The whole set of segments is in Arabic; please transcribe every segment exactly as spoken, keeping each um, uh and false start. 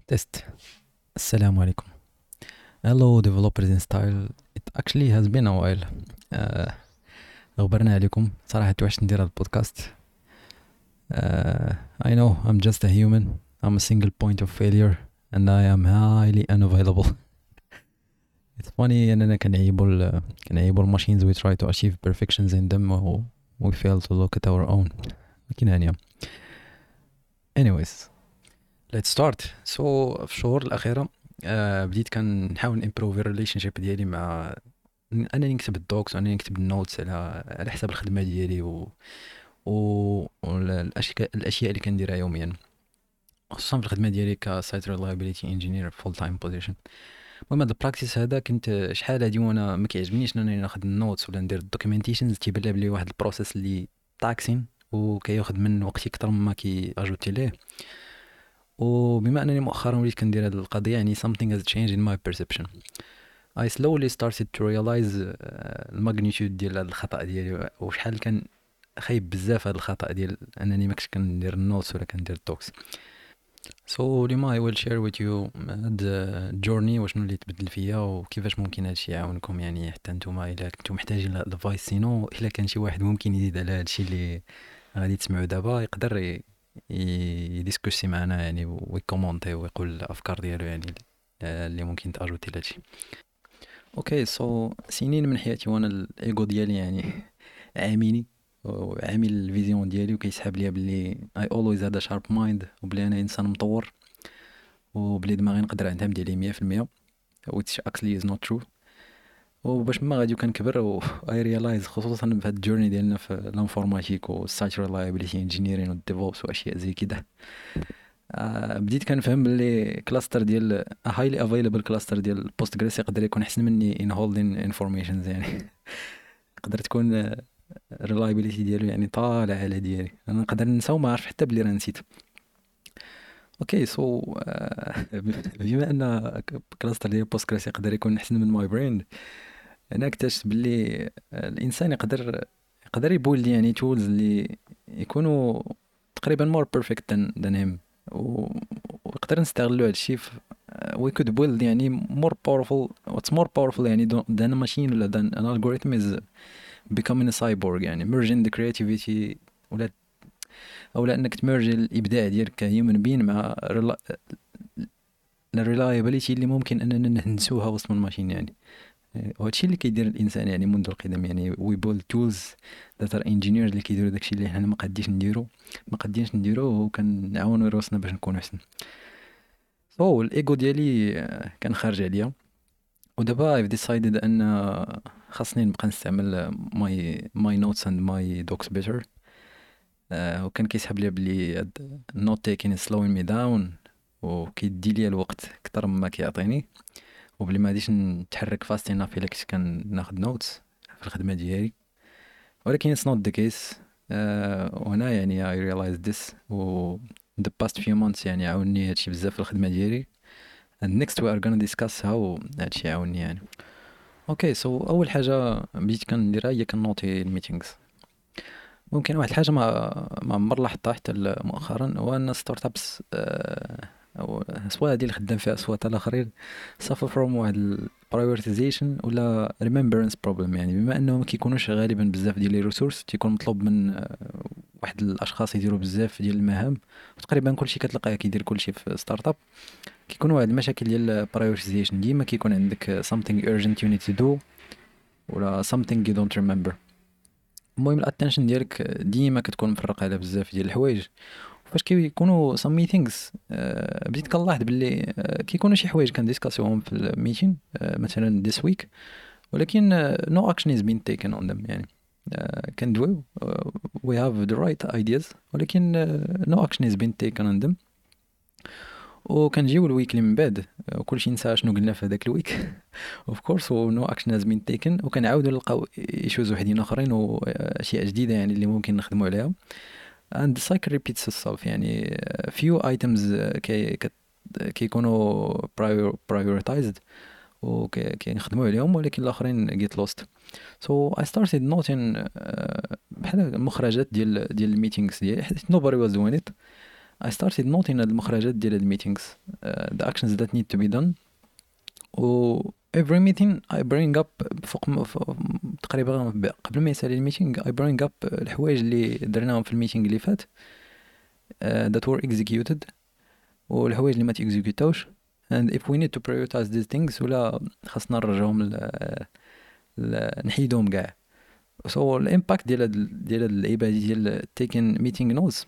Test. السلام عليكم. Hello developers in style. It actually has been a while. آه، غبرنا عليكم صراحة توحشت ندير هذا البودكاست. آه، I know I'm just a human. I'm a single point of failure and I am highly unavailable. It's funny أننا كنعيبوا ال كنعيبوا ال machines we try to achieve perfections in them و we fail to look at our own. لكن هانية. Anyways, let's start. So في الشهور الأخيرة آه بديت كنحاول نimprove الريليشن شيب ديالي مع انني نكتب الدوكس وانني نكتب النوتس على على حساب الخدمه ديالي و و والاشياء الاشياء اللي كنديرها يوميا، خصوصا في الخدمه ديالي كسايت ريلايبيليتي انجينير فول تايم بوزيشن. المهم هذا البراكتيس هذا كنت شحال هادي وانا ما كيعجبنيش انني ناخذ النوتس ولا ندير الدوكيومنتيشنز، تيبان لي بلي واحد البروسيس اللي تاكسين وكياخذ من وقتي اكثر مما كي اجوتي ليه. وبما انني مؤخرا وليت كندير هذه القضيه، يعني something has changed in my perception. I slowly started to realize uh, الماغنيتود ديال هذا الخطأ ديالي وشحال كان خايب بزاف هذا الخطأ ديال انني ما كنتش كندير النوتس ولا كندير التوكس. So اليوم I will share with you هاد الجورني وشنو اللي تبدل فيا وكيفاش ممكن هادشي يعاونكم، يعني حتى نتوما الا كنتو محتاجين الادفايس. سينو الا كان شي واحد ممكن يزيد على هادشي اللي غادي تسمعوا دابا يقدر ي- يديسكوسي معنا يعني ويكومونتي ويقول الافكار ديالو، يعني اللي ممكن تاجوتي لهادشي. اوكي سو سنين من حياتي وانا الايجو ديالي يعني عاميني وعامل الفيزيون ديالي وكيسحاب ليا بلي I always had a sharp mind وبلي انا انسان مطور وبلي دماغي نقدر نعتمد عليه مية في المية which actually is not true. وباش ما غادي كنكبر و I realize خصوصا في هاد الجورني ديالنا في الانفورماتيك والسايت ريلايبيليتي انجينيرين والديفوبس واشياء زي كده، آه بديت كنفهم بلي كلاستر ديال هايلي افيلابل كلاستر ديال بوستغريس يقدر يكون احسن مني ان هولدين انفورميشنز، يعني يقدر تكون الريلايبيليتي ديالو يعني طالع على ديالي، انا نقدر ننسى وما عارف حتى بلي راه نسيت. اوكي سو بما ان كلاستر ديال بوستغريس يقدر يكون احسن من ماي برين، انا اكتشفت بلي الانسان يقدر يقدر يبولد يعني تولز اللي يكونوا تقريبا مور بيرفكت ذان هيم، ويقدر نستغلوا هادشي في we could build يعني more powerful what's more powerful يعني do- than a machine ولا than an algorithm is becoming a cyborg، يعني merging the creativity ولا او لا انك تمرج الابداع ديالك كهيومن بين مع الريلايبيليتي اللي ممكن اننا نهندسوها وسط من الماشين يعني. وهادشي اللي كيدير الانسان يعني منذ القدم، يعني وي بول تولز ذات ار انجينيرز اللي كيديروا داكشي اللي حنا ما قادينش نديرو ما قادينش نديرو وكنعاونوا راسنا باش نكونوا احسن. سو الايجو ديالي آه، كان خارج عليا، ودابا I've decided ان آه، خاصني نبقى نستعمل ماي ماي نوتس اند ماي دوكس بيتر. وكان كيسحب لي بلي النوت تيكين سلوين مي داون وكيدي لي الوقت اكثر مما كيعطيني، وبلي ما غاديش نتحرك فاست اناف الا كنت كناخد نوتس في الخدمه ديالي. ولكن it's not the case. آه وهنا يعني I realized this و the past few months يعني عاوني هادشي بزاف في الخدمة ديالي. and next we are gonna discuss how هادشي عاوني يعني. اوكي سو اول حاجة بديت كنديرها هي كنوتي الميتينغز. ممكن واحد الحاجة ما ما عمر لاحظتها حتى ل- مؤخرا، هو ان ستارت ابس او سواء هادي اللي خدام فيها سواء حتى الاخرين suffer from واحد ال prioritization ولا remembrance problem، يعني بما انه ما كيكونوش غالبا بزاف ديال لي ريسورس تيكون مطلوب من آه، واحد الاشخاص يديروا بزاف ديال المهام، وتقريبا كلشي كتلقاه كيدير كلشي في ستارت اب. كيكون واحد المشاكل ديال prioritization، ديما كيكون عندك something urgent you need to do ولا something you don't remember. المهم الاتنشن ديالك ديما كتكون مفرقه على بزاف ديال الحوايج. فاش كيكونوا some meetings آه، بديت كنلاحظ باللي آه، كيكونوا شي حوايج كنديسكاسيوهم في الميتين آه، مثلا this week، ولكن آه، no action is being taken on them يعني. آه، كندويو آه، we have the right ideas ولكن آه، no action is being taken on them. وكنجيو الويك اللي من بعد آه، وكلشي نسى شنو قلنا في هذاك الويك اوف كورس و no action has been taken، وكنعاودوا نلقاو ايشوز وحدين اخرين واشياء جديده يعني اللي ممكن نخدموا عليها. and the cycle repeats itself يعني uh, few items uh, كي كت- كيكونوا prior, prioritized وكنخدموا عليهم، ولكن الاخرين get lost. so I started noting uh, بحال المخرجات ديال ديال الميتينغز ديالي حيت nobody was doing it. I started noting هاد المخرجات ديال هاد meetings, uh, the actions that need to be done. و every meeting I bring up فوق م- ف- تقريبا ب- قبل ما يسالي الميتينغ I bring up الحوايج اللي درناهم في الميتينغ اللي فات, uh, that were executed, والحوايج اللي ما تيكزيكيوتاوش, and if we need to prioritize these things ولا خاصنا نرجعهم ل... ل... نحيدهم كاع. so الامباكت ديال هاد ديال هاد اللعيبه هادي ديال taking meeting notes,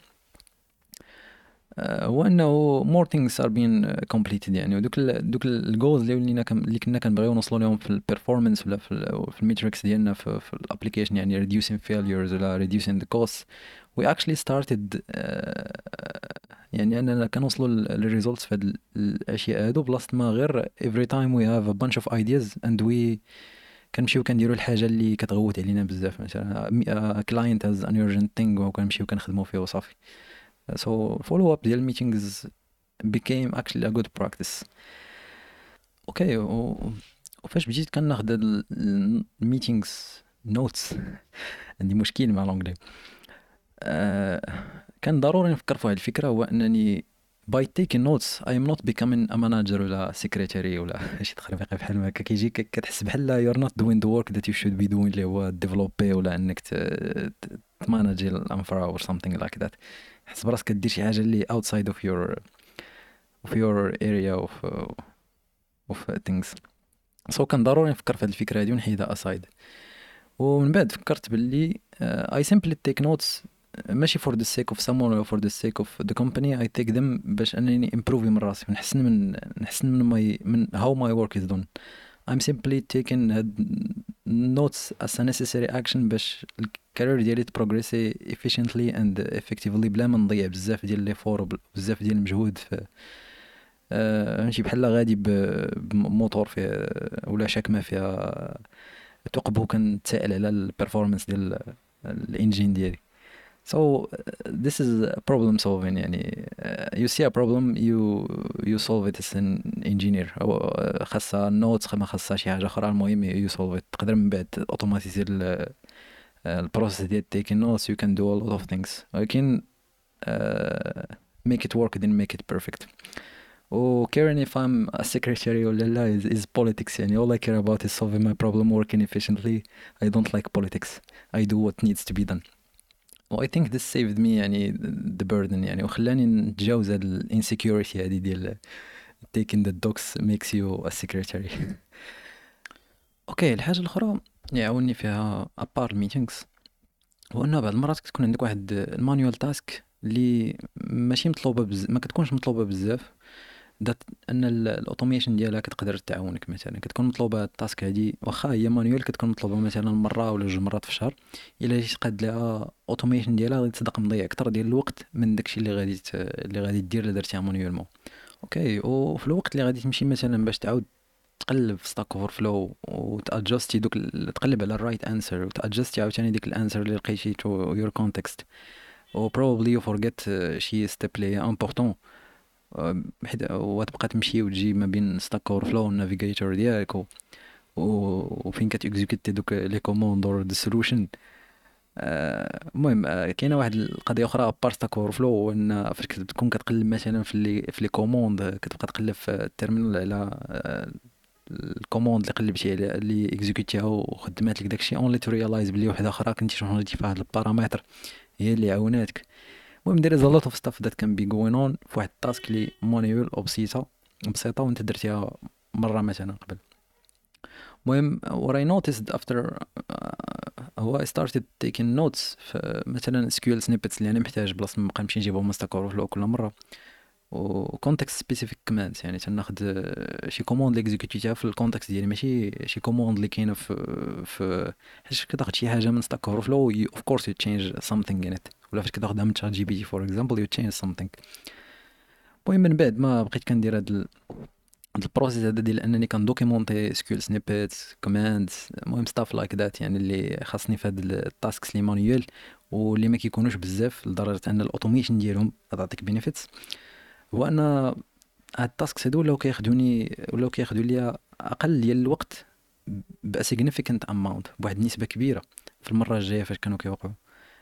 آه، هو انه more things are being completed يعني. ودوك ال دوك الجولز اللي ولينا كم اللي كنا كنبغيو نوصلوا لهم في البيرفورمانس ولا في ال في الميتريكس ديالنا في, في الابليكيشن, يعني reducing failures ولا reducing the costs, we actually started, آه، يعني اننا كنوصلوا للريزولتس في هاد ال- الاشياء هادو بلاصه ما غير every time we have a bunch of ideas and we كنمشيو كنديروا الحاجه اللي كتغوت علينا بزاف. مثلا كلاينت هاز ان urgent thing وكنمشيو كنخدموا فيه وصافي. so follow up ديال meetings became actually a good practice. اوكي, و... وفاش بديت كناخد هاد الميتينغز نوتس عندي مشكل مع لونجلي. آه كان ضروري نفكر في هاد الفكره, هو انني by taking notes I am not becoming a manager ولا secretary ولا شي تخربيق بحال ما هكا. كيجي ك- كتحس بحال you're not doing the work that you should be doing, اللي هو ديفلوبي ولا انك ت- ت- تماناجي الانفرا or something like that. حس براسك كدير شي حاجه اللي outside of your of your area of of things. so كان ضروري نفكر في هاد الفكره هادي ونحيدها aside. ومن بعد فكرت باللي uh, I simply take notes, ماشي for the sake of someone or for the sake of the company. I take them باش انني improve من راسي ونحسن من نحسن من my من how my work is done. I'm simply taking هاد notes as a necessary action باش الكارير ديالي تبروغريسي efficiently and effectively بلا ما نضيع بزاف ديال لي فور بزاف ديال المجهود في آه، ماشي بحال غادي ب- بموتور فيه ولا شاكمه فيها ثقب كنتسائل على البرفورمانس ديال الانجين ديالي. so uh, this is problem solving يعني. uh, you see a problem you you solve it as an engineer, او آه، خاصها نوت ما خاصها شي حاجه اخرى, المهم you solve it. تقدر من بعد اوتوماتيزي البروسيس ديال taking notes. you can do a lot of things, ولكن uh, make it work then make it perfect. و caring if I'm a secretary ولا لا is, is politics يعني. all I care about is solving my problem, working efficiently. I don't like politics. I do what needs to be done. و I think this saved me يعني the burden يعني, وخلاني نتجاوز هاد ال insecurity هادي ديال taking the docs makes you a secretary. اوكي, الحاجة الأخرى اللي يعاوني فيها apart meetings هو انه بعض المرات كتكون عندك واحد المانيوال تاسك اللي ماشي مطلوبة بزاف, ما كتكونش مطلوبة بزاف, ذات ان الاوتوميشن ديالها كتقدر تعاونك. مثلا كتكون مطلوبه التاسك هادي واخا هي مانيوال, كتكون مطلوبه مثلا مره ولا جوج مرات في الشهر. الا جيت قاد لها اوتوميشن ديالها غادي تصدق مضيع اكثر ديال الوقت من داكشي اللي غادي ت... اللي غادي دير الا درتيها مانيوالمون. اوكي, وفي الوقت اللي غادي تمشي مثلا باش تعاود تقلب في ستاك اوفر فلو وتادجستي دوك ال- تقلب على الرايت انسر وتادجستي عاوتاني ديك الانسر اللي لقيتي تو يور كونتكست, و probably you forget uh, شي ستيب اللي هي امبورطون. حيت وتبقى تمشي وتجي ما بين ستاك اوفر فلو والنافيغيتور ديالك و... و- وفين كتيكزيكوتي دوك لي كوموند اور دي سولوشن. المهم, آه، كاينه واحد القضيه اخرى ابار ستاك اوفر فلو, هو ان فاش كتكون كتقلب مثلا في لي في لي كوموند, كتبقى تقلب في التيرمينال على آه، الكوموند اللي قلبتي على اللي اكزيكوتيها وخدمات لك داكشي, اونلي تو ريلايز بلي وحده اخرى كنتي شونجيتي في هاد البارامتر هي اللي عاوناتك. المهم there is a lot of stuff that can be going on في واحد التاسك اللي مانيوال او بسيطه بسيطه وانت درتيها مره مثلا قبل. المهم what I noticed after uh, هو I started taking notes في مثلا اس كيو ال snippets اللي انا محتاج بلاصه ما نبقى نمشي نجيبهم مستقر في كل مره, و context specific commands يعني تناخد آه، شي كوموند اللي اكزيكوتيها في الكونتكست ديالي, ماشي شي كوموند اللي كاينه في في حيت كتاخد شي حاجه من ستاك اوفر فلو of course you change something in it, ولا فاش كتاخدها من تشات جي بي تي فور اكزامبل you change something. المهم من بعد ما بقيت كندير هاد ال- هاد البروسيس هذا ديال انني كندوكيمونتي سكيول سنيبيتس كوماندز, المهم ستاف لايك ذات يعني اللي خاصني في هاد التاسكس اللي مانيوال واللي ما كيكونوش بزاف لدرجه ان الاوتوميشن ديالهم تعطيك بينيفيتس. هو ان هاد التاسكس هادو ولاو كياخدوني ولاو كياخدوا ليا اقل ديال الوقت ب significant amount, بواحد النسبه كبيره في المره الجايه فاش كانوا كيوقعوا.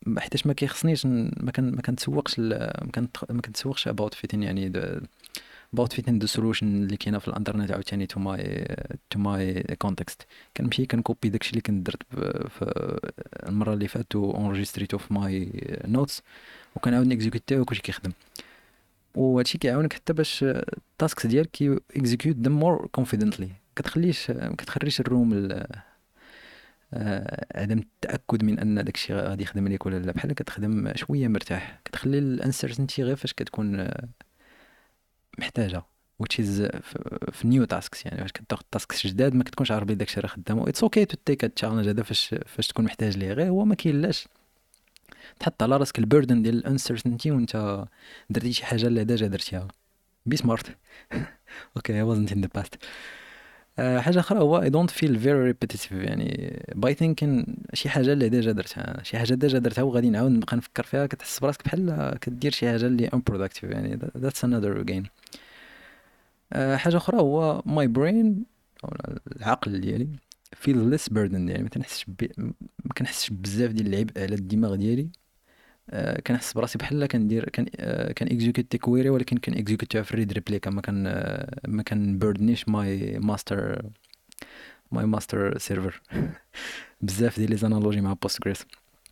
ما- حيتاش ما كيخصنيش ن- ما كان ما كنتسوقش ال- ما كنت ما كنتسوقش about fitting يعني the- about fitting the solution اللي كاينه في الانترنت عاوتاني to my to my context. كنمشي كنكوبي داكشي اللي كنت درت ب- في المره اللي فاتت وانجستريتو في ماي نوتس وكنعاود نيكزيكوتيه وكلشي كيخدم. وهادشي كيعاونك حتى باش التاسكس ديالك كي اكزيكيوت them more confidently. كتخليش ما كتخريش الروم ال- آه، عدم التاكد من ان داكشي غادي يخدم ليك ولا لا، بحال كتخدم شويه مرتاح، كتخلي الانسرتينتي غير فاش كتكون آه، محتاجه which is في, في نيو تاسكس. يعني فاش كتاخد تاسكس جداد ما كتكونش عارف بلي داكشي راه خدام. اتس اوكي تو تيك التشالنج هذا فاش فاش تكون محتاج ليه، غير هو ما كاينلاش تحط على راسك البيردن ديال الانسرتينتي وانت درتي شي حاجه اللي ديجا درتيها. بي سمارت. اوكي I wasn't in the past. آه، حاجه اخرى هو I don't feel very repetitive. يعني by thinking شي حاجه اللي ديجا درتها، شي حاجه ديجا درتها وغادي نعاود نبقى نفكر فيها، كتحس براسك بحال كدير شي حاجه اللي unproductive. يعني that- that's another gain. آه، حاجه اخرى هو my brain أو العقل ديالي feel less burden. يعني ما كنحسش ب... ما كنحسش بزاف ديال العبء على الدماغ ديالي. آه، كنحس براسي بحال كندير كان آه، كان اكزيكوتي كويري ولكن كان اكزيكوتيها في الريد ريبليكا. ما كان آه، ما كان بيردنيش ماي ماستر ماي ماستر سيرفر. بزاف ديال لي زانالوجي مع بوستغريس.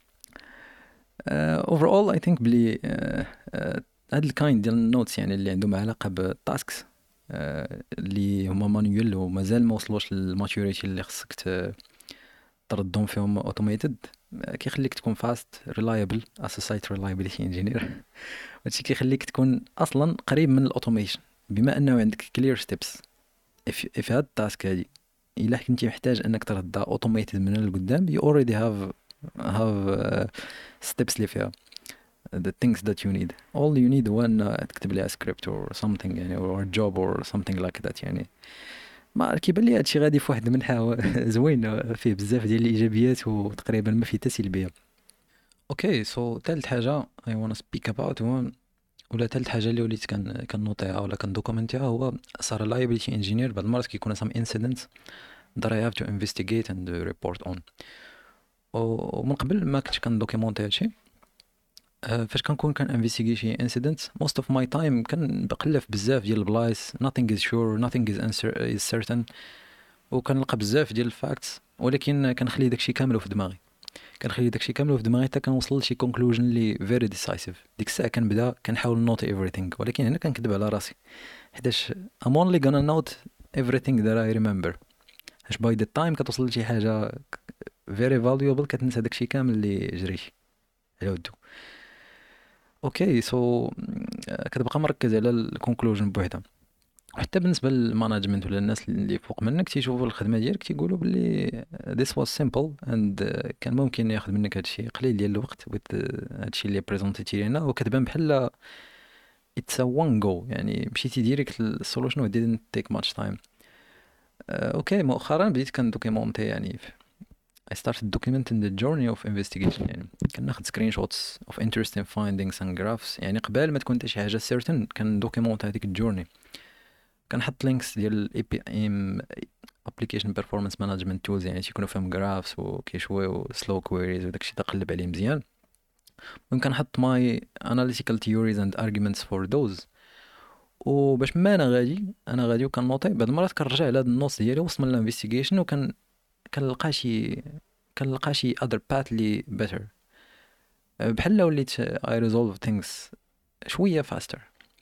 اوفرول اي ثينك بلي آه، آه، هاد الكايند ديال النوتس يعني اللي عندهم علاقه بالتاسكس اللي هما مانيوال ومازال ما وصلوش للماتوريتي اللي خصك ت- تردهم فيهم اوتوميتد، كيخليك تكون فاست ريلايبل as a site reliability engineer. هادشي كيخليك تكون اصلا قريب من الاوتوميشن بما انه عندك كلير ستيبس. if if هاد التاسك هادي الا كنتي محتاج انك تردها اوتوميتد من القدام you already have have uh, steps اللي فيها the things that you need. all you need هو ان تكتب ليها script or something يعني or a job or something like that. يعني ما كيبان لي هادشي غادي في واحد المنحى هو زوين فيه بزاف ديال الايجابيات وتقريبا ما فيه حتى سلبيه. اوكي سو ثالث حاجه I wanna speak about هو ولا ثالث حاجه اللي وليت كان كنوطيها ولا كندوكومنتيها هو صار reliability engineer. بعض المرات كيكون some incidents that I have to investigate and report on. ومن قبل ما كنتش كندوكيمونتي هادشي. أه، فاش كنكون كان انفيستيغي شي انسيدنت most of my time كنقلب بزاف ديال البلايص nothing is sure nothing is, answer, is certain وكنلقى بزاف ديال الفاكتس ولكن كنخلي داكشي كامل في دماغي. كنخلي داكشي كامل في دماغي حتى كنوصل لشي كونكلوجن اللي فيري ديسايسيف. ديك الساعه كنبدا كنحاول نوتي everything ولكن هنا كنكذب على راسي حيتاش I'm only gonna note everything that I remember. اش باي ذا تايم كتوصل لشي حاجه فيري فاليوبل كتنسى داكشي كامل اللي جريتي على ودو. اوكي سو كتبقى مركز على الكونكلوجن بوحدها. وحتى بالنسبه للمانجمنت ولا الناس اللي فوق منك تيشوفوا الخدمه ديالك تيقولوا باللي this was simple and كان ممكن ياخذ منك هادشي قليل ديال الوقت with هادشي اللي بريزونتيتي لينا وكتبان بحال it's a one go. يعني مشيتي ديريكت للسولوشن و didn't take much time. آه، اوكي مؤخرا بديت كندوكيمونتي يعني I started documenting the journey of investigation. يعني كناخد سكرين شوتس of interesting findings and graphs. يعني قبل ما تكون حتى شي حاجه certain كندوكيمونت هذيك الجورني. كنحط لينكس ديال الاي بي ام application performance management tools يعني تيكونوا فيهم graphs وكيشويو slow queries وداكشي تقلب عليه مزيان. ممكن نحط my analytical theories and arguments for those. وباش ما انا غادي انا غادي وكنوطي بعض المرات كنرجع على هاد النص ديالي وسط من الانفستيغيشن وكن كنلقى شي كنلقى شي other path لي better. بحال لو وليت I resolve things شوية faster.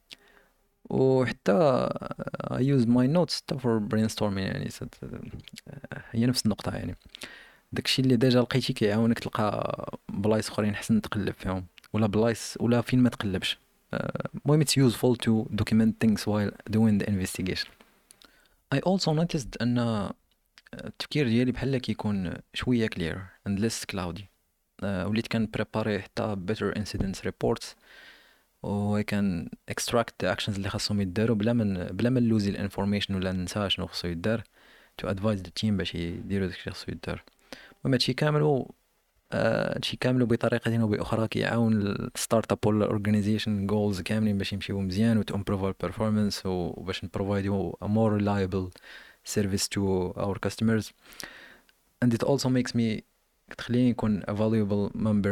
وحتى I use my notes حتى for brainstorming. يعني سد... هي نفس النقطة. يعني داكشي اللي ديجا لقيتي كيعاونك تلقى بلايص اخرين حسن تقلب فيهم ولا بلايص ولا فين ما تقلبش. المهم it's useful to document things while doing the investigation. I also noticed ان التفكير ديالي بحال كيكون شوية clear and less cloudy. آه، وليت كان بريباري حتى better incidents reports و كان extract the actions اللي خاصهم يداروا بلا من بلا ما نلوزي الانفورميشن ولا ننسى شنو خصو يدار to advise the team باش يديروا داكشي اللي خصو يدار. المهم هادشي كامل آه، هادشي كامل بطريقة او باخرى كيعاون الستارت اب ولا الاورجانيزيشن جولز كاملين باش يمشيو مزيان و to improve our performance وباش نبروفايدو a more reliable service to our customers. And it also makes me تخليني نكون a valuable member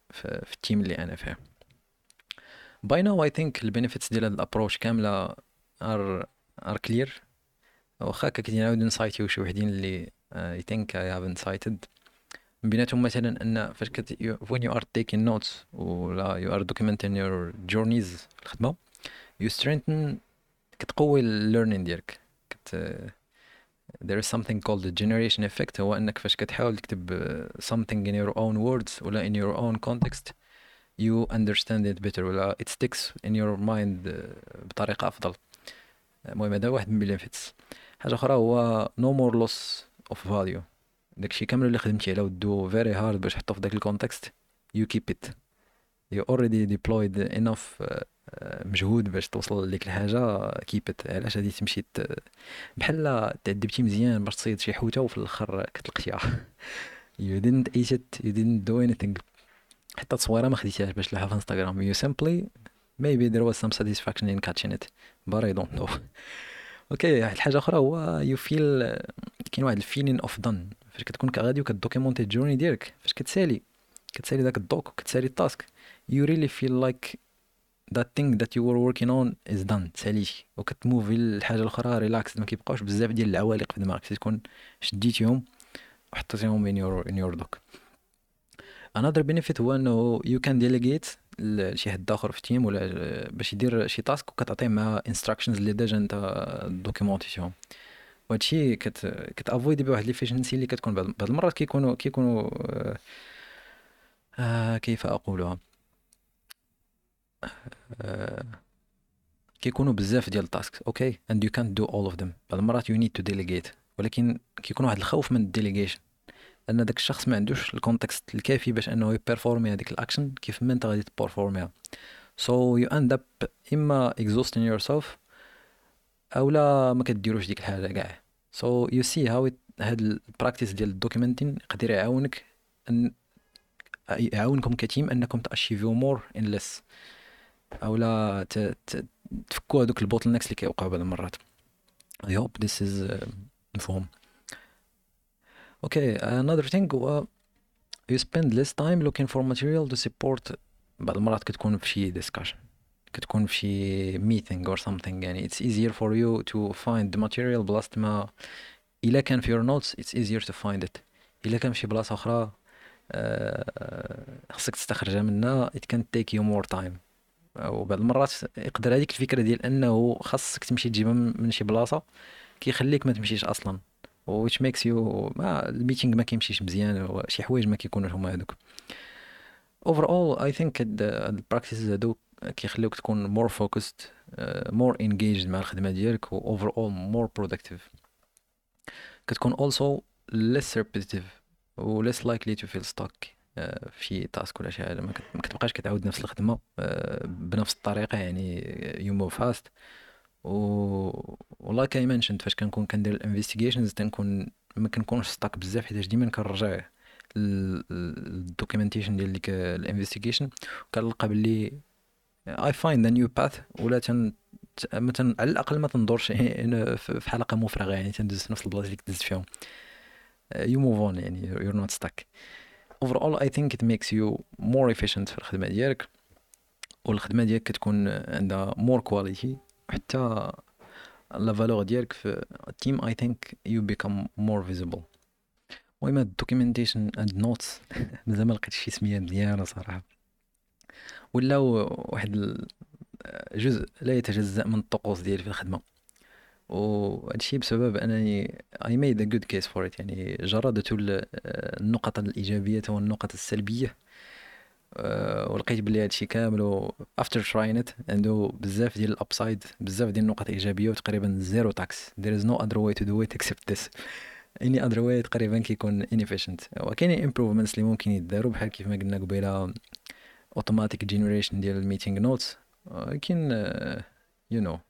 في, في التيم اللي انا فيه. باي ناو اي ثينك البينيفيتس ديال هاد الابروش كامله ار ار كلير. واخا كاين نعاود نسايتيو شي وحدين اللي اي ثينك اي هافنت سايتد. من بيناتهم مثلا ان فاش كت you- when you are taking notes ولا you are documenting your journeys في الخدمه you strengthen كتقوي ال learning ديالك. كت there is something called the generation effect. هو انك فاش كتحاول تكتب uh, something in your own words ولا in your own context you understand it better ولا it sticks in your mind uh, بطريقه افضل. المهم هذا واحد من البينيفيتس. حاجه اخرى هو no more loss of value. داكشي كامل اللي خدمتي على ودو very hard باش تحطو في داك الكونتكست you keep it. you already deployed enough uh, uh, مجهود باش توصل لديك الحاجه keep it. علاش غادي تمشي ت- بحال تعذبتي مزيان باش تصيد شي حوته وفي الاخر كتلقتيها you didn't eat it you didn't do anything. حتى تصويره ما خديتيهاش باش تلوحها في انستغرام you simply maybe there was some satisfaction in catching it but I don't know. اوكي واحد الحاجه اخرى هو you feel كاين واحد الفيلين اوف دان فاش كتكون غادي وكدوكيمونتي الجورني ديالك فاش كتسالي كتسالي داك الدوك وكتسالي التاسك you really feel like that thing that you were working on is done. ساليتي وكتموفي للحاجه الاخرى ريلاكس. ما كيبقاوش بزاف ديال العوالق في دماغك تكون شديتيهم وحطيتيهم in your in your doc. another benefit هو انه you can delegate لشي حد اخر في التيم ولا باش يدير شي تاسك وكتعطيه مع instructions اللي ديجا انت دوكيمونتيتيهم. وهادشي كت كتافويدي بواحد ليفيشنسي اللي كتكون بعض بعض المرات كيكونوا كيكونوا آه آه، كيف اقولها آه كيكونوا بزاف ديال التاسك اوكي and you can't do all of them. بعض المرات you need to delegate ولكن كيكون واحد الخوف من الديليجيشن ان داك الشخص ما عندوش الكونتكست الكافي باش انه يبيرفورمي هذيك الاكشن كيف ما انت غادي تبيرفورميها. so you end up اما exhausting yourself او لا ما كديروش ديك الحاجه كاع. so you see how it هاد البراكتيس ديال الدوكيومنتين يقدر يعاونك ان يعاونكم كتيم انكم تاشيفيو مور ان ليس او لا ت... ت... تفكوا هذوك البوتل نكس اللي كيوقعوا بعض المرات. I hope this is uh, مفهوم. okay another thing هو you spend less time looking for material to support. بعض المرات كتكون في شي discussion كتكون في شي meeting or something يعني it's easier for you to find the material بلاصة ما إلا كان في your notes it's easier to find it. إلا كان في شي بلاصة أخرى آه، خصك تستخرجها منها it can take you more time. وبعض المرات يقدر هذيك الفكرة ديال أنه خاصك تمشي تجيبها من من شي بلاصة كيخليك ما تمشيش أصلا which makes you ما الميتينغ ما كيمشيش مزيان وشي حوايج ما كيكونوش هما هذوك. overall I think هاد هاد البراكتيسز هادو كيخليوك تكون more focused uh, more engaged مع الخدمة ديالك و overall more productive. كتكون also less repetitive و less likely to feel stuck uh, في شي تاسك ولا شي حاجة. ما كت- ما كتبقاش كتعاود نفس الخدمة uh, بنفس الطريقة يعني you move fast. و والله كاي منشنت فاش كنكون كندير الانفستيجيشنز تنكون ما كنكونش ستاك بزاف حيت ديما كنرجع الدوكيومنتيشن ديال ديك الانفستيجيشن كنلقى باللي I find a new path ولا تن مثلا على الاقل ما تندورش هنا في في حلقه مفرغه يعني تندوز في نفس البلاصه اللي كدزت فيهم. you move on يعني you're not stuck. overall I think it makes you more efficient في الخدمه ديالك والخدمه ديالك كتكون عندها more quality وحتى لا فالور ديالك في التيم I think you become more visible. المهم هاد الدوكيومنتيشن اند نوتس مازال ما لقيتش شي سميه مزيانه صراحه ولاو واحد ال- جزء لا يتجزأ من الطقوس ديالي في الخدمه. وهادشي بسبب انني I made a good case for it يعني جردت ال- النقط الايجابيه والنقط السلبيه. أه، ولقيت بلي هادشي كامل و after trying it عنده بزاف ديال الابسايد بزاف ديال النقط ايجابيه وتقريبا زيرو تاكس. there is no other way to do it except this. any other way تقريبا كيكون inefficient. وكاينين improvements اللي ممكن يداروا بحال كيف ما قلنا قبيله automatic generation ديال الميتينغ نوتس ولكن uh, you know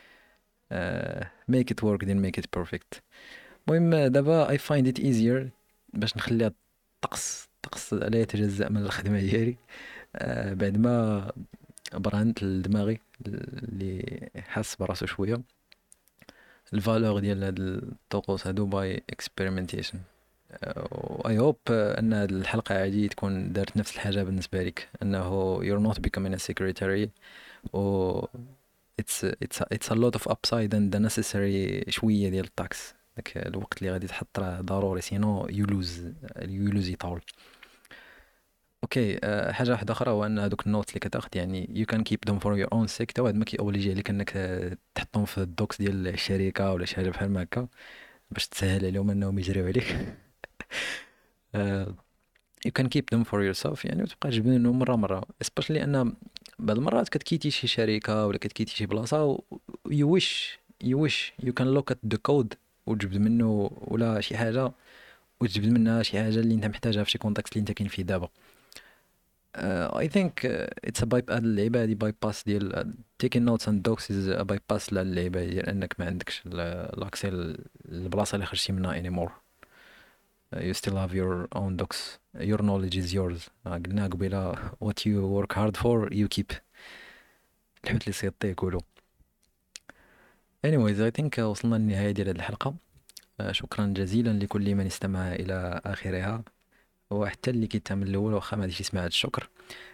uh, make it work then make it perfect. المهم دابا I find it easier باش نخليها طقس طقس لا يتجزأ من الخدمة ديالي. آه بعد ما برهنت لدماغي اللي حاس براسو شوية الفالور ديال هاد الطقوس هادو باي اكسبيرمنتيشن اي هوب ان هاد الحلقه هادي تكون دارت نفس الحاجه بالنسبه لك، انه you're not becoming a secretary و it's it's it's a lot of upside and the necessary شويه ديال التاكس. داك الوقت اللي غادي تحط راه ضروري، سينو you lose you lose it all. اوكي. أه حاجه واحده اخرى هو ان هذوك النوت اللي كتاخد يعني you can keep them for your own sake، تا واحد ما كيأوبليجي عليك انك آه، تحطهم في الدوكس ديال الشركه ولا شي حاجه بحال ما هكا باش تسهل عليهم انهم يجريو عليك. آه، you can keep them for yourself يعني، وتبقى تجبدهم مره مره، especially ان بعض المرات كتكيتي شي شركه ولا كتكيتي شي بلاصه و you wish you wish you can look at the code وتجبد منه ولا شي حاجه، وتجبد منها شي حاجه اللي انت محتاجها في شي كونتكست اللي انت كاين فيه دابا. Uh, I think uh, it's a bypass. اللعيبة هادي bypass ديال uh, taking notes and docs is a bypass للعيبة ديال انك ما عندكش لاكسي للبلاصة اللي خرجتي منها anymore. Uh, you still have your own docs. Your knowledge is yours. uh, قلنا قبيلة what you work hard for you keep. الحوت اللي سيطي يقولوا. Anyways I think uh, وصلنا للنهاية ديال هاد الحلقة. uh, شكرا جزيلا لكل من استمع إلى آخرها، وحتى اللي كيتهم الأول واخا ما غاديش يسمع هاد الشكر.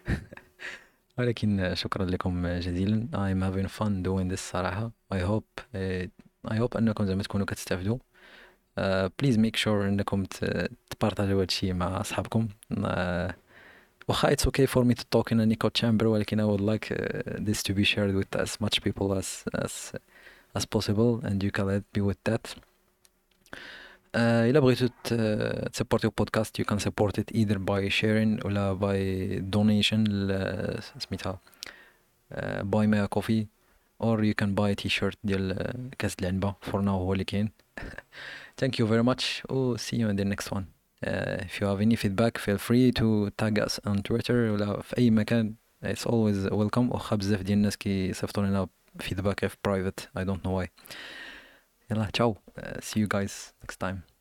ولكن شكرا لكم جزيلا. I'm having fun doing this صراحة. I hope uh, I hope أنكم زعما تكونوا كتستافدوا. uh, please make sure أنكم ت- تبارطاجيو هادشي مع أصحابكم. uh, واخا it's okay for me to talk in an echo chamber، ولكن I would like uh, this to be shared with as much people as as as possible and you can help me with that. آه، إلا بغيتو ت- تسبورتيو بودكاست you can support it either by sharing ولا by donation ل- سميتها uh, buy me a coffee or you can buy a t-shirt ديال uh, كاس العنبة for now هو اللي كاين. Thank you very much. Oh, see you in the next one. Uh, if you have any feedback feel free to tag us on Twitter ولا في أي مكان. It's always welcome. واخا بزاف ديال الناس كيصيفطوا لنا feedback في private I don't know why. يلا ciao. Uh, see you guys next time.